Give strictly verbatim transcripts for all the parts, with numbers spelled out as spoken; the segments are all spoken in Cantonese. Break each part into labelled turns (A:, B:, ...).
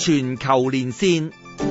A: 全球連線。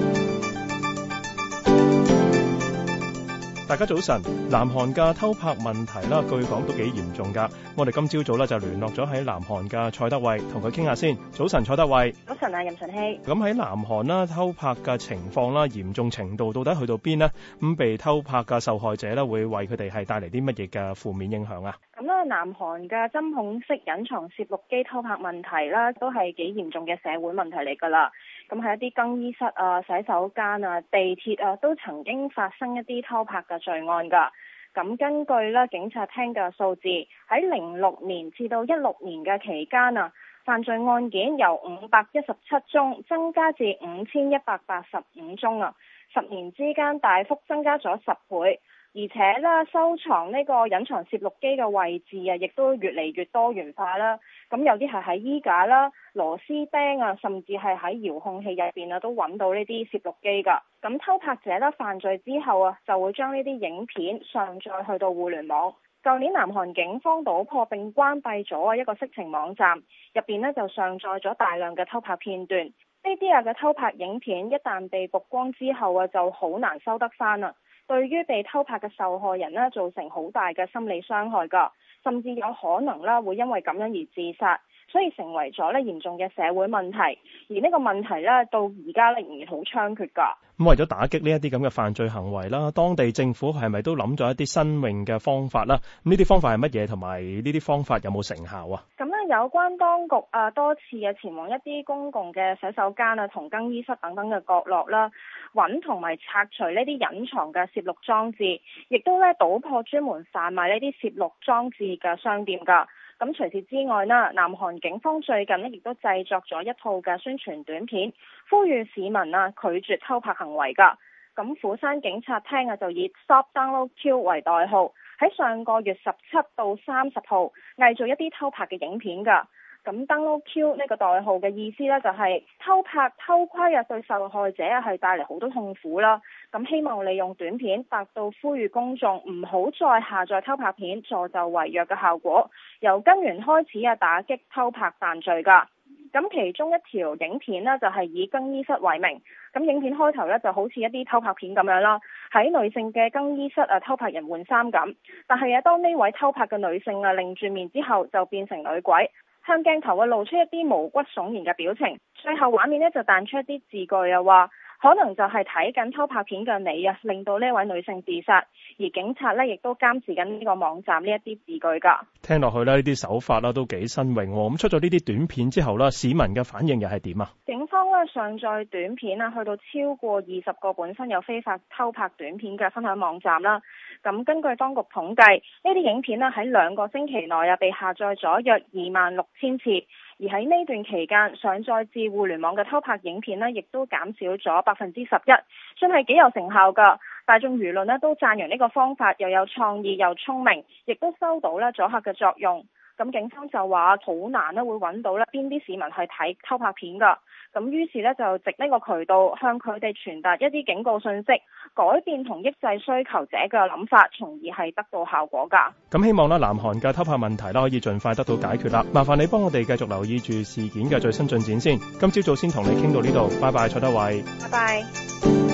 B: 大家早晨，南韓嘅偷拍問題啦，據講都幾嚴重㗎。我哋今朝早咧就聯絡咗喺南韓嘅蔡德蕙，同佢傾下先。早晨，蔡德蕙。
C: 早晨啊，任順熙。咁
B: 喺南韓啦，偷拍嘅情況啦，嚴重程度到底去到邊呢？咁被偷拍嘅受害者咧，會為佢哋係帶嚟啲乜嘢嘅負面影響啊？
C: 咁咧，南韓嘅針孔式隱藏攝錄機偷拍問題啦，都係幾嚴重嘅社會問題嚟㗎啦。咁喺一啲更衣室啊、洗手間啊、地鐵啊，都曾經發生一啲偷拍嘅罪案㗎。咁根據咧警察廳嘅數字，喺零六年至到一六年嘅期間啊，犯罪案件由五百一十七宗增加至五千一百八十五宗啊，十年之間大幅增加咗十倍。而且咧，收藏呢個隱藏攝錄機嘅位置啊，亦都越嚟越多元化啦。咁有啲係喺衣架啦、螺絲釘啊，甚至係喺遙控器入邊啊，都揾到呢啲攝錄機㗎。咁偷拍者咧犯罪之後啊，就會將呢啲影片上載去到互聯網。舊年南韓警方搗破並關閉咗啊一個色情網站，入邊呢就上載咗大量嘅偷拍片段。呢啲啊嘅偷拍影片一旦被曝光之後啊，就好難收得返啦。對於被偷拍嘅受害人呢，造成好大嘅心理傷害㗎，甚至有可能啦會因為咁樣而自殺，所以成為咗咧嚴重嘅社會問題。而呢個問題咧到而家仍然好猖獗㗎。
B: 咁為咗打擊呢一啲咁嘅犯罪行為啦，當地政府係咪都諗咗一啲新穎嘅方法啦？咁呢啲方法係乜嘢？同埋呢啲方法有冇成效啊？
C: 咁咧有關當局啊多次嘅前往一啲公共嘅洗手間啊同更衣室等等嘅角落啦，揾同埋拆除呢啲隱藏嘅攝錄裝置，亦都咧搗破專門販賣呢啲攝錄裝置嘅商店㗎。咁除此之外啦，南韓警方最近呢亦都製作咗一套嘅宣傳短片，呼籲市民啊拒絕偷拍行為㗎。咁釜山警察廳啊就以 Stop Download Q 為代號，喺上個月十七到三十號偽造一啲偷拍嘅影片㗎。咁 Download Q 呢個代號嘅意思呢，就係偷拍偷窺啊，對受害者啊係帶嚟好多痛苦啦。咁希望利用短片達到呼籲公眾唔好再下載偷拍片，助紂為虐嘅效果，由根源開始啊打擊偷拍犯罪㗎。咁其中一條影片呢，就係以更衣室為名，咁影片開頭呢，就好似一啲偷拍片咁樣啦，喺女性嘅更衣室啊偷拍人換衫咁。但係啊，當呢位偷拍嘅女性啊擰住面之後，就變成女鬼。向鏡頭啊露出一啲毛骨悚然嘅表情，最後畫面呢就彈出一啲字句啊，話可能就係睇緊偷拍片嘅你啊，令到呢位女性自殺。而警察呢亦都監視緊呢個網站呢一啲字句㗎。
B: 聽落去呢，呢啲手法啦都幾新穎喎。咁出咗呢啲短片之後啦，市民嘅反應又係點啊？
C: 警方呢上載短片啊，去到超過二十個本身有非法偷拍短片嘅分享網站啦。咁根據當局統計，呢啲影片呢喺兩個星期內啊被下載咗約二萬六千次。而喺呢段期間上載至互聯網嘅偷拍影片呢，亦都減少咗百分之十一，算係幾有成效㗎。大眾輿論呢都讚揚呢個方法又有創意又聰明，亦都收到咧阻嚇嘅作用。咁警方就話好難咧會揾到咧邊啲市民係睇偷拍片㗎。咁於是咧就藉呢個渠道向佢哋傳達一啲警告信息，改變同抑制需求者嘅諗法，從而係得到效果㗎。
B: 咁希望咧南韓嘅偷拍問題啦可以盡快得到解決啦。麻煩你幫我哋繼續留意住事件嘅最新進展先。今朝早先同你傾到呢度，拜拜，蔡德蕙。
C: 拜拜。